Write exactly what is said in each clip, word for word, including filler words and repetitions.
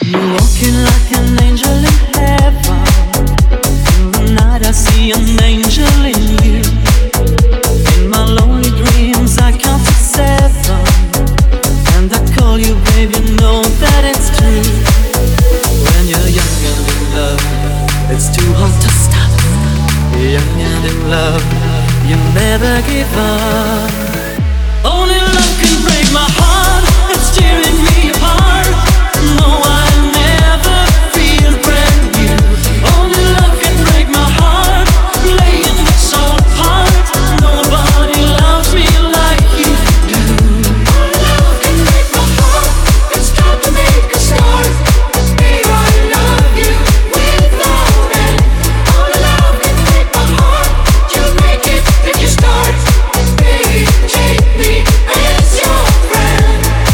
You're walking like an angel in heaven. In the night I see an angel in you. In my lonely dreams I count to seven, and I call you baby, know that it's true. When you're young and in love, it's too hard to stop. Young and in love, you never give up. Only love can break my heart, it's tearing me apart. No, I'll never feel brand new. Only love can break my heart, play it so apart. Nobody loves me like you do. Only love can break my heart, it's got to make a start. Babe, I love you without end. Only love can break my heart, you make it if you start. Baby, take me as your friend.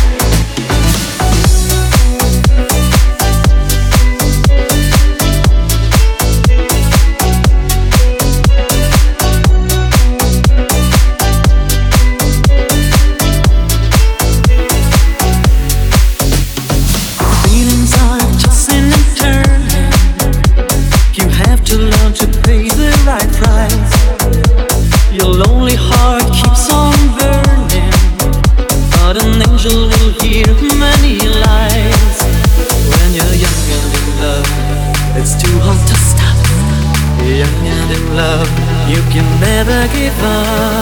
Feelings are tossing and turning. You have to learn to pay the right price. Your lonely heart keeps on burning, but an angel will hear many lies. When you're young and in love, it's too hard to stop. Young and in love, you can never give up.